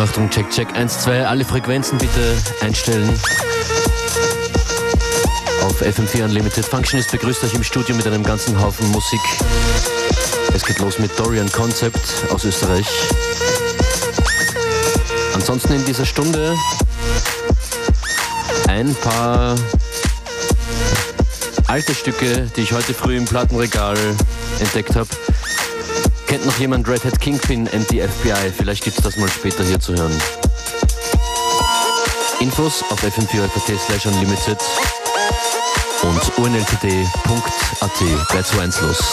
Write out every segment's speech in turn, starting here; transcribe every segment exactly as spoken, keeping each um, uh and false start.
Achtung, check, check, eins, zwei, alle Frequenzen bitte einstellen. Auf F M vier Unlimited. Functionist begrüßt euch im Studio mit einem ganzen Haufen Musik. Es geht los mit Dorian Concept aus Österreich. Ansonsten in dieser Stunde ein paar alte Stücke, die ich heute früh im Plattenregal entdeckt habe. Kennt noch jemand Red Hat Kingpin and the F B I? Vielleicht gibt es das mal später hier zu hören. Infos auf f m vier punkt at slash unlimited und u n l t d punkt a t. Gleich zu eins los.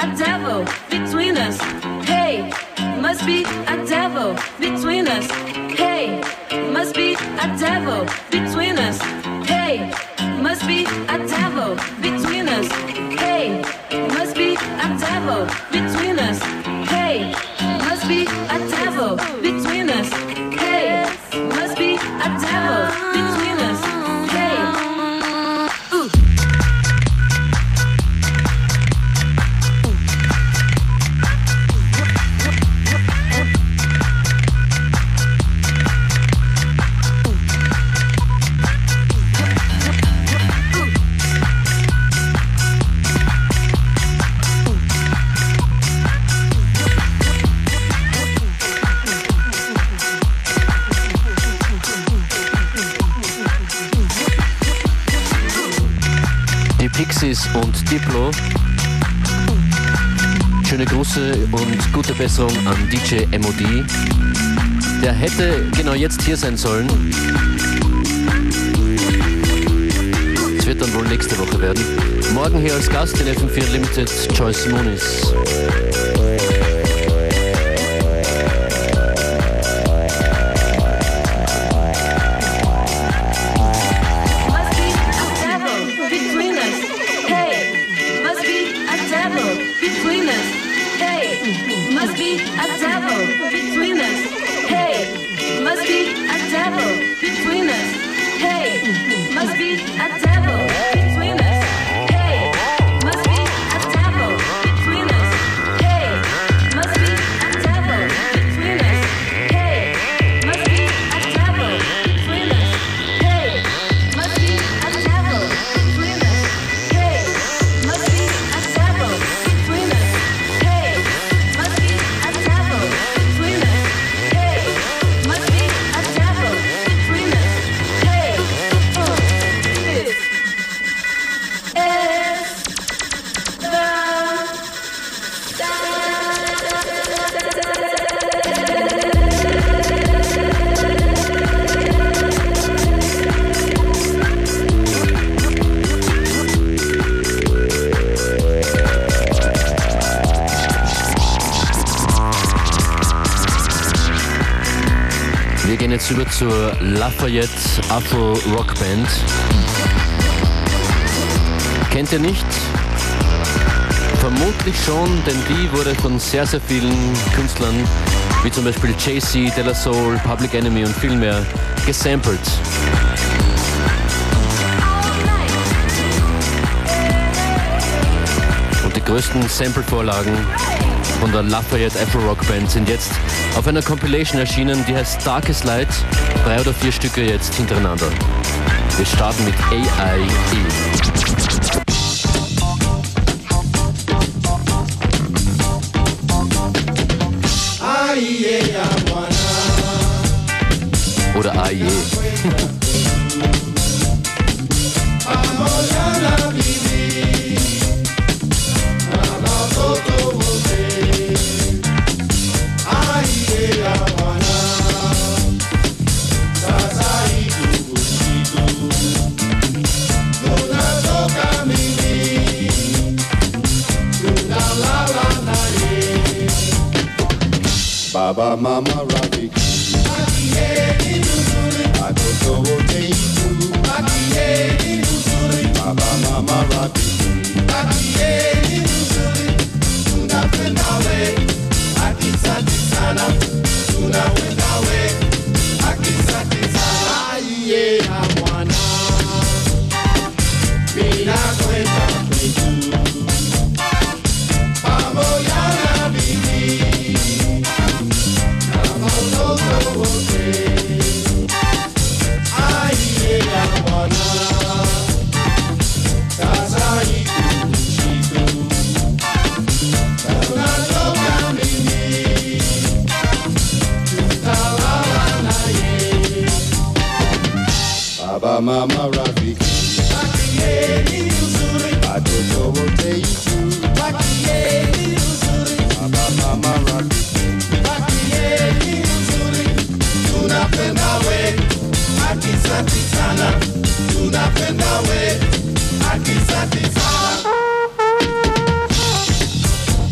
a devil between us. Hey, must be a devil between us. Hey, must be a devil between us. Hey, must be a devil between us. Hey, must be a devil between us. Hey, must be a devil between us. Hey, must be a devil between us. Hey, ooh. Pixies und Diplo. Schöne Grüße und gute Besserung an D J M O D. Der hätte genau jetzt hier sein sollen. Es wird dann wohl nächste Woche werden. Morgen hier als Gast in F M vier Limited Joyce Moonis. Jetzt über zur Lafayette Afro Rock Band. Kennt ihr nicht? Vermutlich schon, denn die wurde von sehr, sehr vielen Künstlern, wie zum Beispiel Jay-Z, De La Soul, Public Enemy und viel mehr, gesampelt. Und die größten Sample-Vorlagen von der Lafayette Afro Rock Band sind jetzt auf einer Compilation erschienen, die heißt Darkest Light. Drei oder vier Stücke jetzt hintereinander. Wir starten mit A I E. Oder A I E. Baba Mama Ravi Atoto Teitu Baba Mama Ravi Tunapenda we Akisante sana Tunapenda we Akisante sana Aiye na mwana Mina kwenda kwetu Pamoja na bibi Baba Mama Rafiki Bakieni uzuri Watoto wote itu Bakieni uzuri Baba Mama Rafiki Bakieni uzuri Tunapenda we Akisante sana Tunapenda we Akisante sana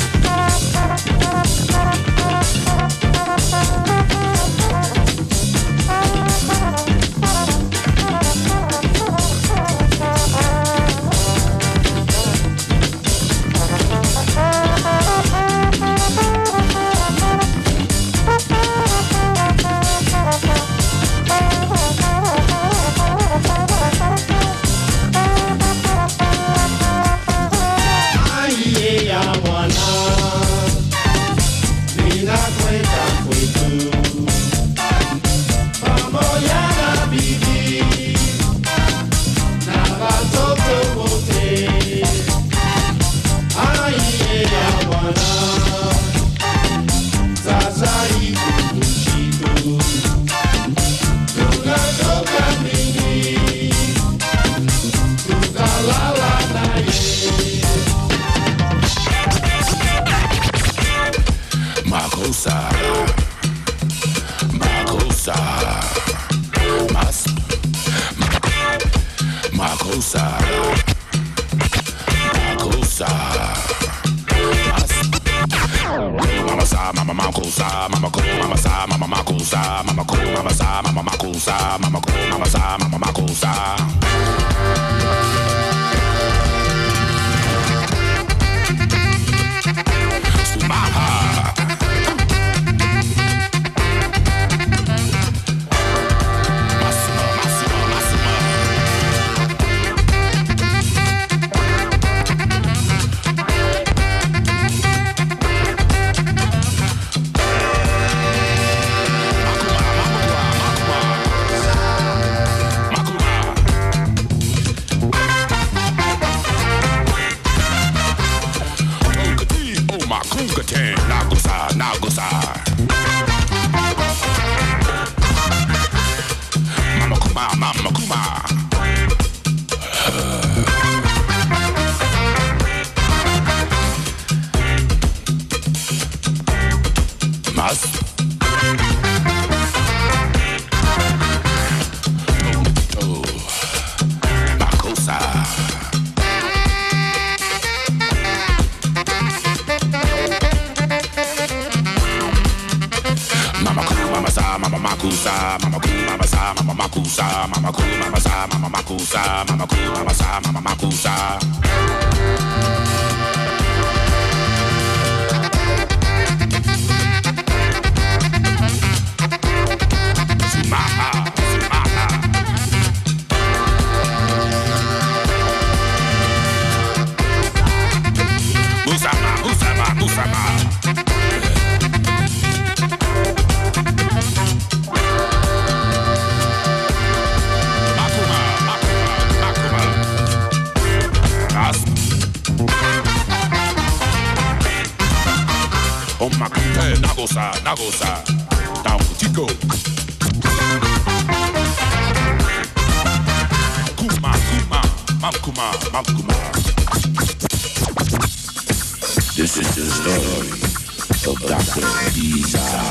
This is the story of Doctor Bizarre.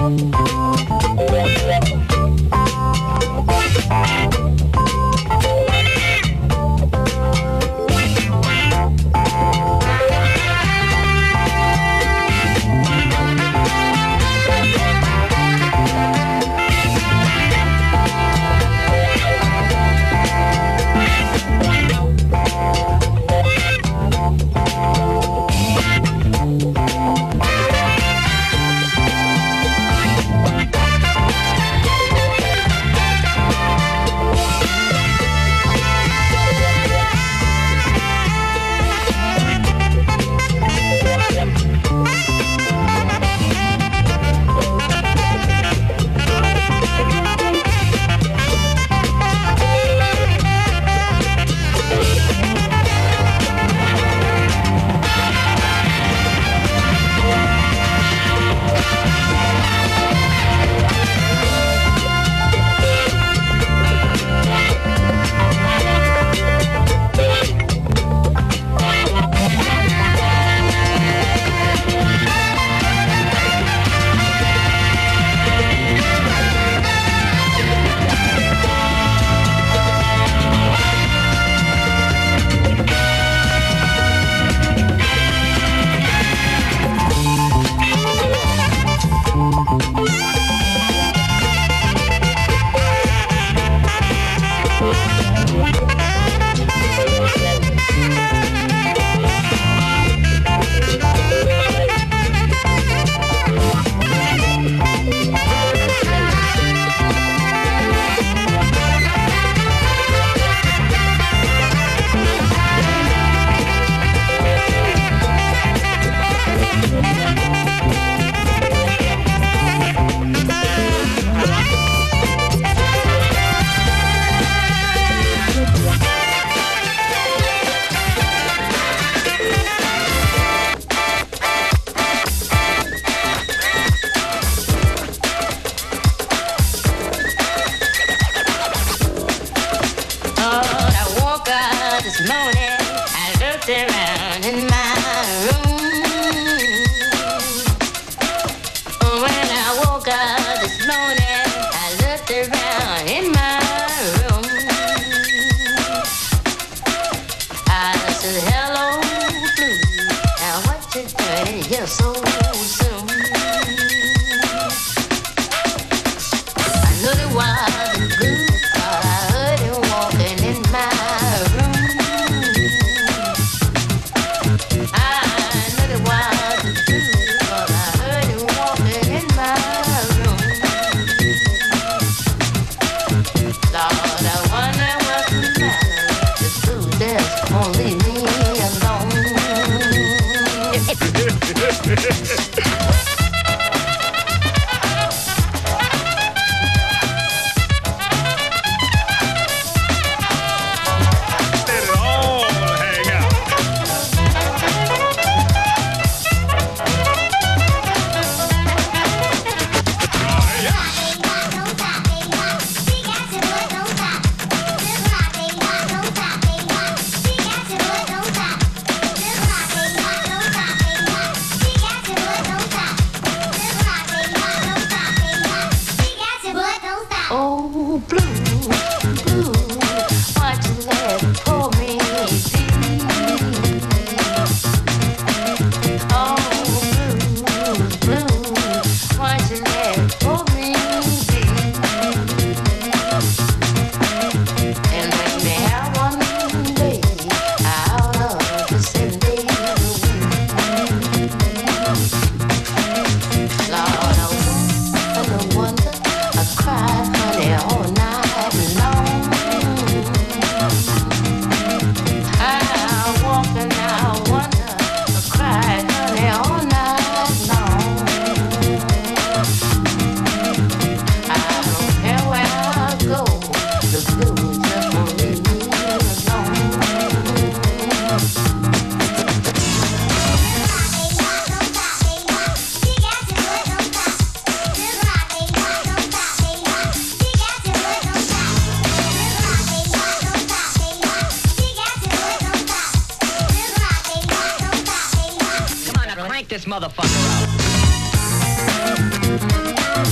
This motherfucker out.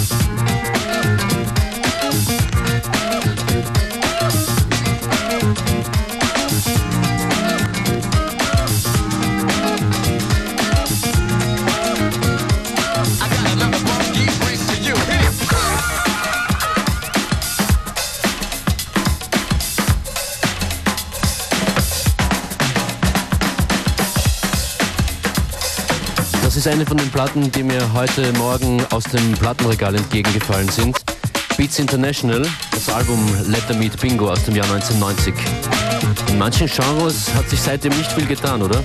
ist eine von den Platten, die mir heute Morgen aus dem Plattenregal entgegengefallen sind. Beats International, das Album Let Them Eat Bingo aus dem Jahr neunzehnhundertneunzig. In manchen Genres hat sich seitdem nicht viel getan, oder?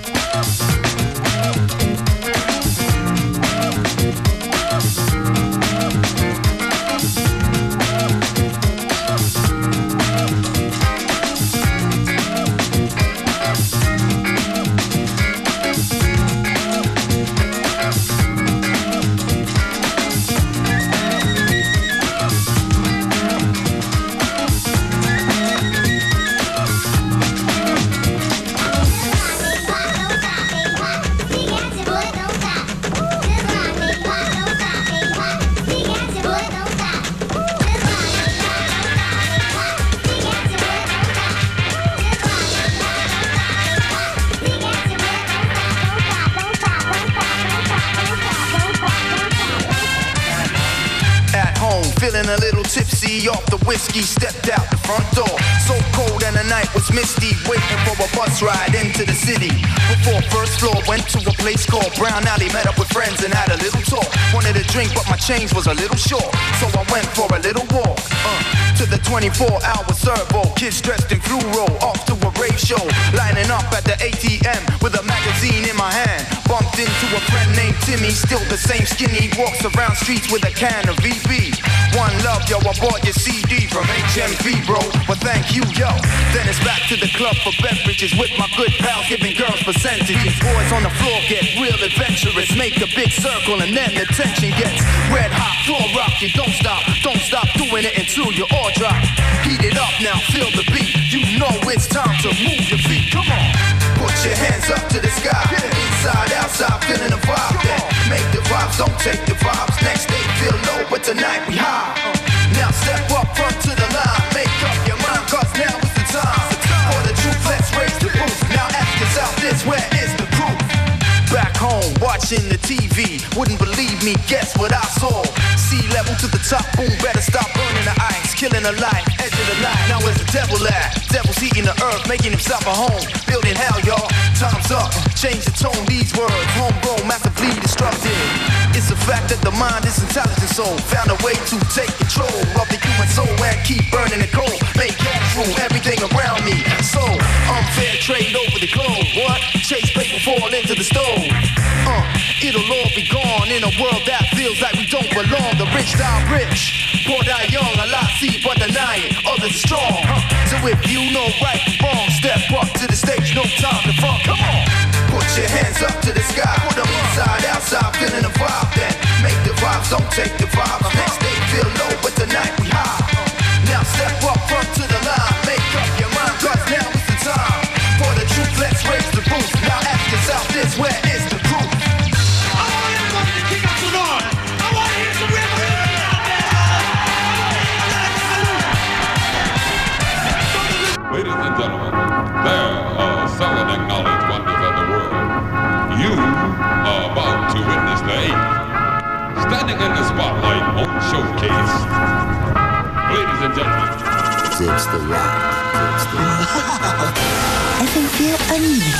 Feeling a little tipsy off the whiskey, stepped out the front door. So cold and the night was misty, waiting for a bus ride into the city. Before first floor, went to a place called Brown Alley, met up with friends and had a little talk. Wanted a drink, but my change was a little short, so I went for a little walk. Uh, to the twenty-four hour servo, kids dressed in fluoro, off to a rave show. Lining up at the A T M with a magazine in my hand. Bumped into a friend named Timmy, still the same skinny, walks around streets with a can of V B. One love, yo, I bought your C D from H M V, bro. Well, thank you, yo. Then it's back to the club for beverages with my good pals, giving girls percentages. Boys on the floor get real adventurous, make a big circle and then the tension gets red hot. Floor rock, you don't stop, don't stop doing it until you all drop. Heat it up now, feel the beat. You know it's time to move your feet. Come on, put your hands up to the sky. Inside, outside, feeling the vibe. Then make the vibes, don't take the vibes. Next day feel low, but tonight we high. Now step up front to the line. Make up your mind, cause now is the time. For the truth, let's raise the roof. Now ask yourself this, where is the proof? Back home, watching the T V. Wouldn't believe me, guess what I saw? Sea level to the top, boom, better stop burning the ice. Killing the light, edge of the light. Now where's the devil at? Devil's heating the earth, making himself a home. Building hell, y'all. Time's up, change the tone, these words. Homegrown, massively destructive. It's a fact that the mind is intelligent soul. Found a way to take control of the human soul and keep burning the coal. Make cash rule everything around me. So, unfair trade over the globe. What? Chase paper, fall into the stove. Uh, it'll all be gone in a world that feels like we don't belong. The rich die rich, poor die young. A lot see but deny it, others are strong. Uh, so if you know right from wrong, step up to the stage, no time to front. Come on, put your hands up to the sky. Put them inside, outside, feeling the vibe. Then make the vibes, don't take the vibes. Next day feel low, but tonight we high. Now step up front to the line. Make up your mind, cause now is the time. For the truth, let's raise the roof. Now ask yourself this, where is the proof? I want everybody to kick up some noise. I want to hear some rhythm out there. Ladies and gentlemen, there are seven acknowledged wonders of the world. You are about to witness the eighth. Standing in the spotlight on Showcase. Ladies and gentlemen. Tips the rock. Tips the rock. F M vier Unlimited.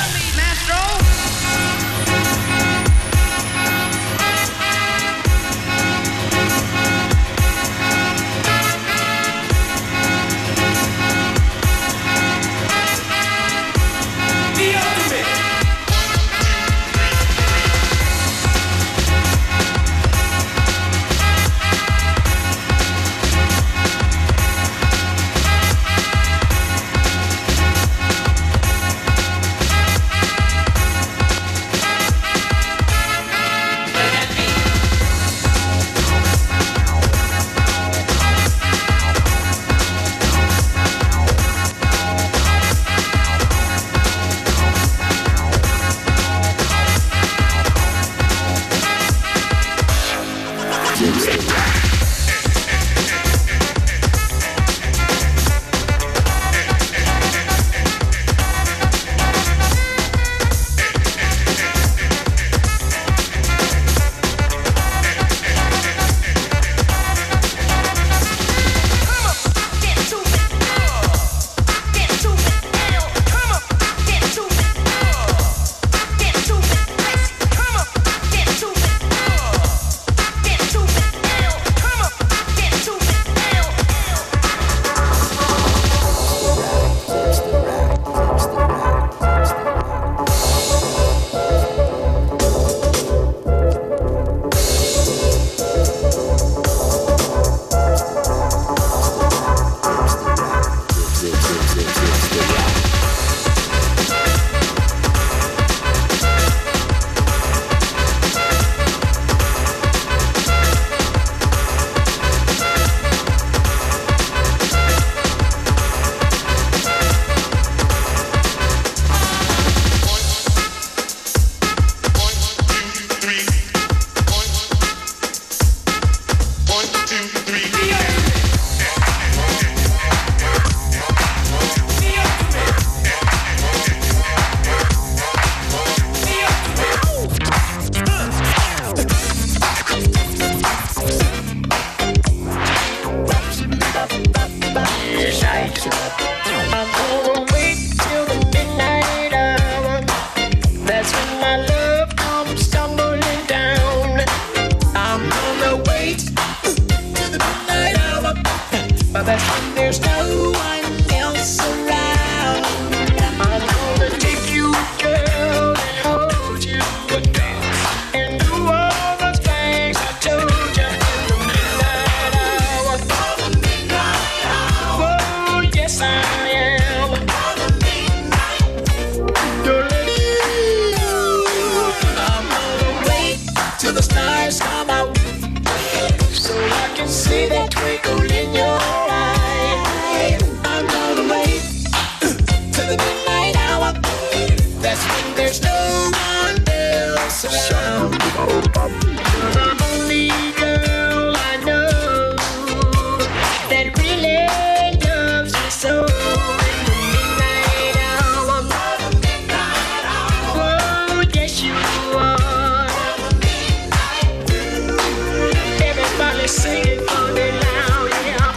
See that twinkle in your eye. I'm gonna wait till the midnight hour. That's when there's no one else around. You're the only girl I know that really loves me so. Sing it for me loud, yeah.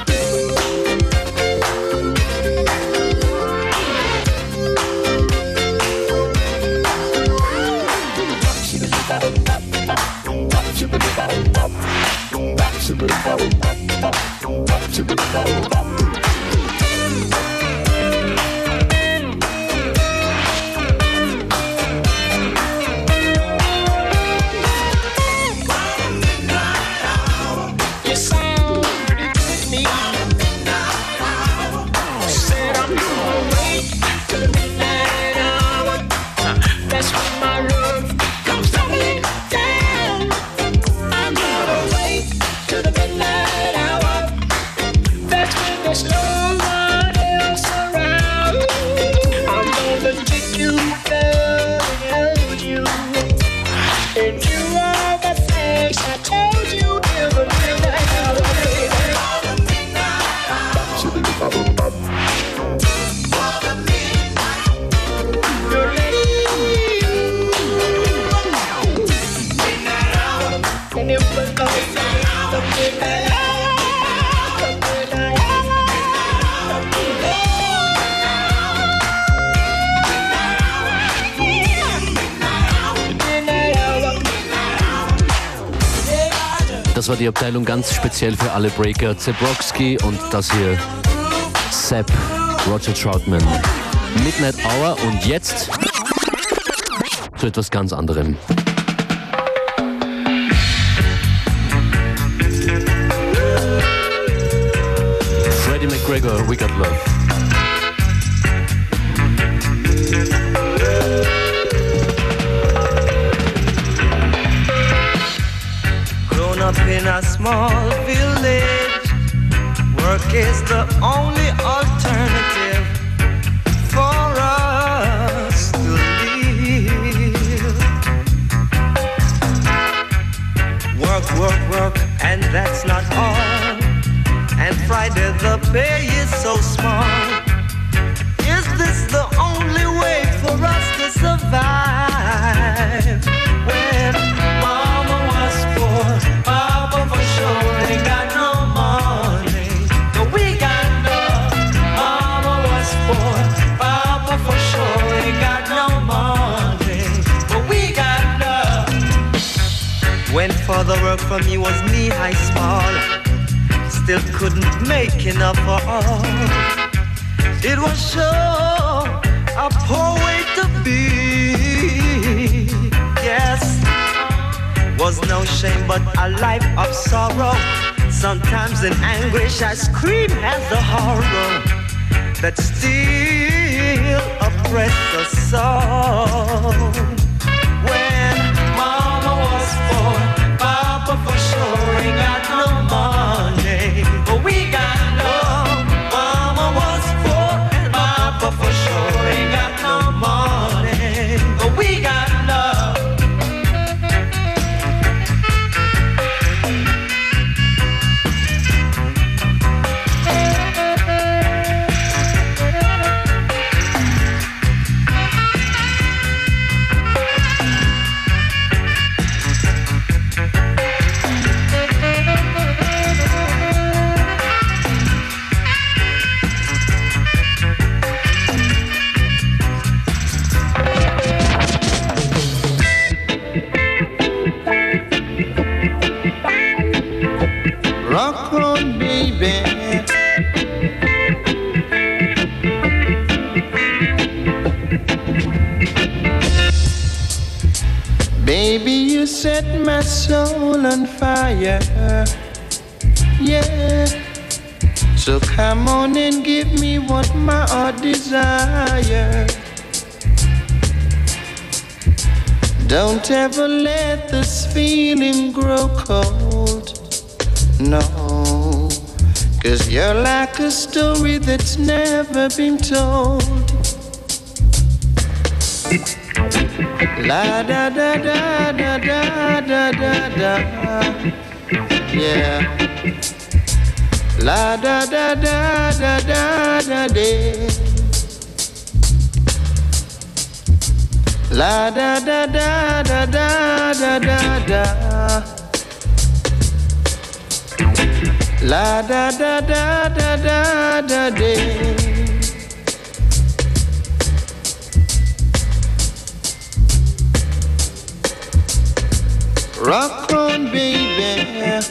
Das war die Abteilung ganz speziell für alle Breaker. Zebrowski und das hier Sepp, Roger Troutman. Midnight Hour und jetzt zu etwas ganz anderem. Freddie McGregor, We Got Love. Up in a small village, work is the only alternative for us to live. Work, work, work, and that's not all. And Friday the pay is so small. Is this the only way for us to survive? When mama was poor, Papa for sure ain't got no money, but we got love. Mama was poor, Papa for sure ain't got no money, but we got love. When father worked for me was knee-high small, still couldn't make enough for all. It was sure a poor way to be, yes. Was no shame but a life of sorrow. Sometimes in anguish I scream at the horror that still oppresses us so. When mama was poor, Papa for sure ain't got no money, but we got love. Mama was poor, Papa for sure ain't got no money, but we got love. Rock on, baby. Baby, you set my soul on fire. Yeah. So come on and give me what my heart desires. Don't ever let this feeling grow cold. No. 'Cause you're like a story that's never been told. La da da da da da da da da. Yeah. La da da da da da da da. La da da da da da da da da. La da da da da da da da. Rock on, baby.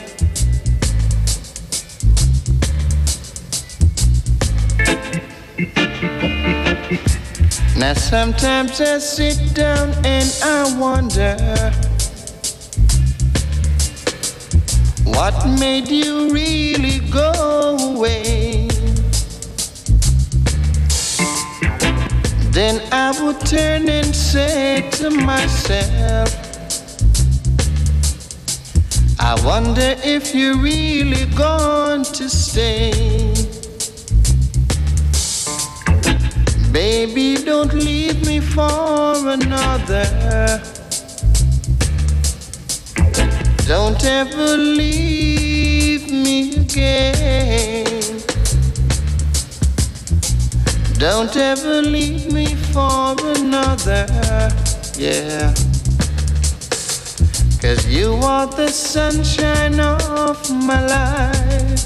Now sometimes I sit down and I wonder, what made you really go away? Then I would turn and say to myself, I wonder if you're really going to stay. Baby, don't leave me for another. Don't ever leave me again. Don't ever leave me for another. Yeah. 'Cause you are the sunshine of my life.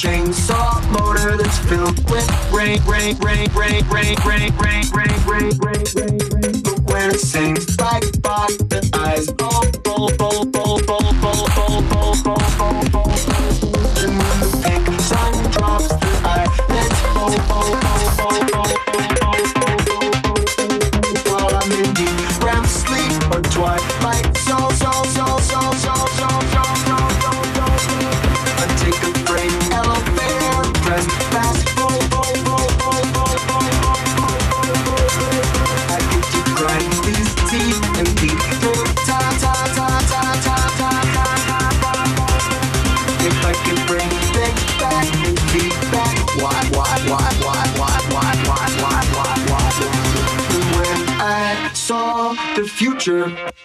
chainsaw motor that's filled with rain, rain, rain, rain, rain, rain, rain, rain, rain, rain, rain, rain. But when it sings like Bach, the eyes all roll, roll, roll, roll, roll, roll, roll, roll, roll, roll. And when the pink sun drops, the eyelids roll, roll, roll, roll, roll, roll, roll, roll. While I'm in deep R E M sleep or twilight, so, so, so, so, so, so, so, so, so, so. I take a break, elevator, press fast, roll, roll, roll, roll, roll, roll, roll, roll, roll. I get to grind these teeth and beat through ta ta ta ta ta ta ta ta ta. If I can bring things back and feedback, why, why, why, why, why, why, why, why, why, why? And when I saw the future,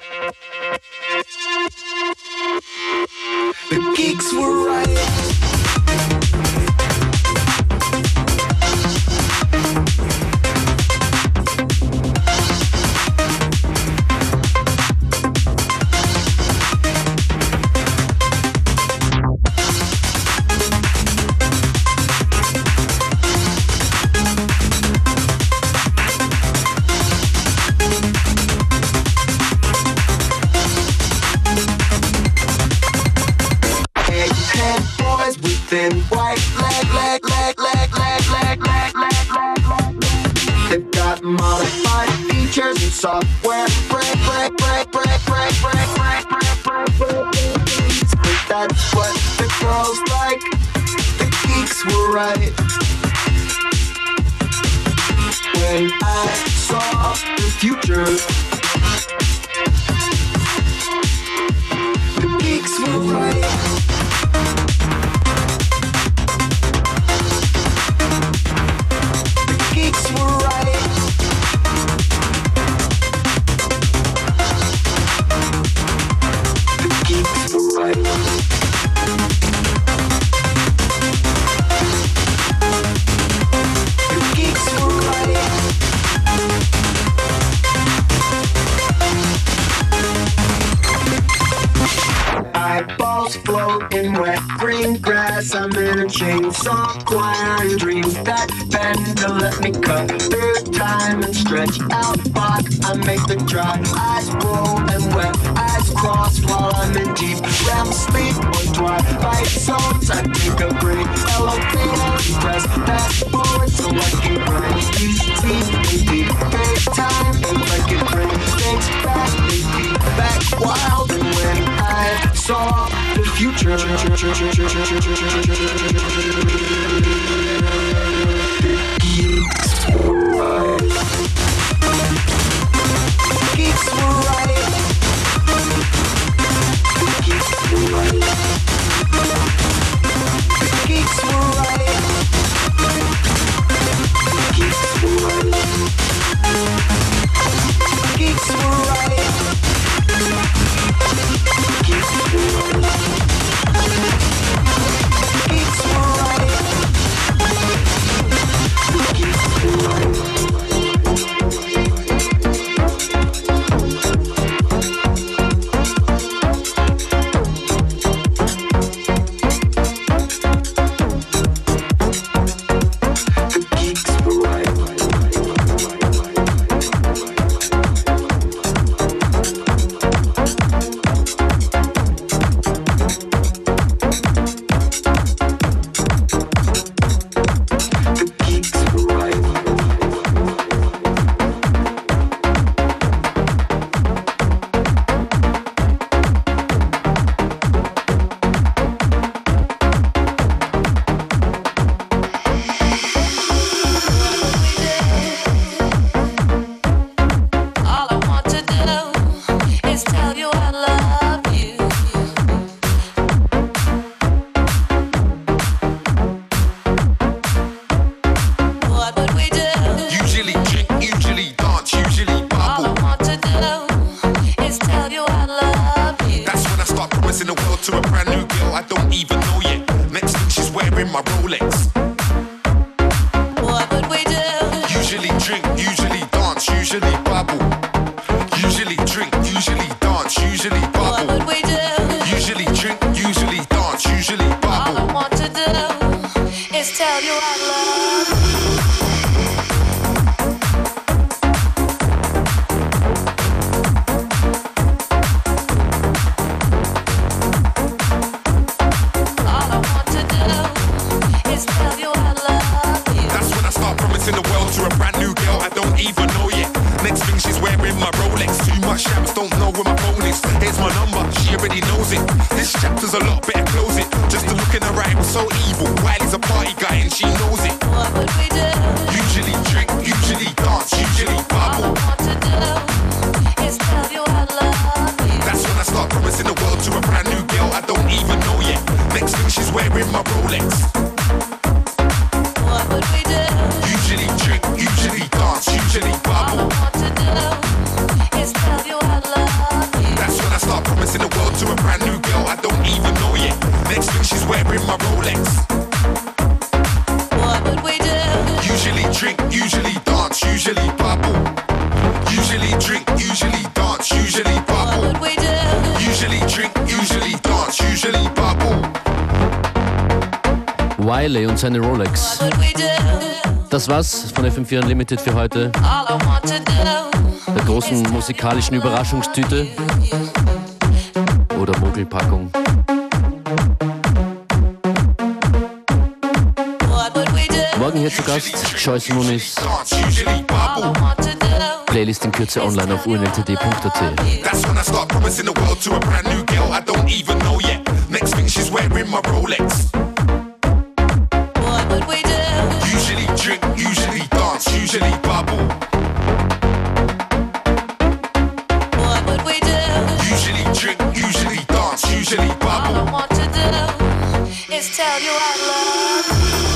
the geeks were right. Thin white leg, leg, leg, leg, leg, leg, leg, leg, leg, leg. They've got modified features and software. Break, break, break, break, break, break, break, break, break, break. That's what the girls like. The geeks were right. When I saw the future, the geeks were right. Geeks were right. The geeks were right. The geeks were right. Eyeballs float in wet green grass. I'm in a chainsaw choir and dreams that bend to let me cut through time and stretch out spot. I make the dry eyes roll and wet eyes cross while I'm in deep R E M sleep or twilight zones. I take a break, elevator, and press fast forward so I can grind these teeth in deep fake time. If I can bring things back, they beat back wild. And when I saw the future, geeks were right. Geeks were right. Geeks were right. Geeks were right. Geeks were right. Geeks were right. Geeks were right. Geeks were right. Usually drink, usually dance, usually bubble. All I want to do you I love. All I want to do is tell you I love you. That's when I start promising the world to a brand new girl I don't even know yet. Next thing she's wearing my Rolex. Too much shams, don't know where my phone is. Here's my number, she already knows it. This chapter's a lot, better close it. Just to look in her eye was so evil. Wiley's a party guy and she knows it. What would we do? Usually drink, usually dance, usually bubble. All I want to do is tell you I love you. That's when I start promising the world to a brand new girl I don't even know yet. Next thing she's wearing my Rolex. What would we do? Usually drink, usually dance, usually bubble. All I want to do is tell you I love you. That's when I start promising the world to a brand new girl I don't even know yet. Next thing she's wearing my Rolex. What would we do? Usually drink, usually dance, usually bubble. Usually drink, usually dance, usually bubble. What would we do? Usually drink, usually dance, usually bubble. Wiley und seine Rolex. What would we do? Das war's von F M vier Unlimited für heute. All I want to do. Der großen musikalischen Überraschungstüte oder Mogelpackung. What would we do? Morgen hier zu Gast Joyce Muniz. All I want to do. Playlist in Kürze online auf u n l t d punkt a t. That's when I start promising the world to a brand new girl I don't even know yet. Next thing she's wearing my Rolex. What would we do? Usually drink, usually dance, usually bubble. What would we do? Usually drink, usually dance, usually All bubble. I want to do is tell you I love you.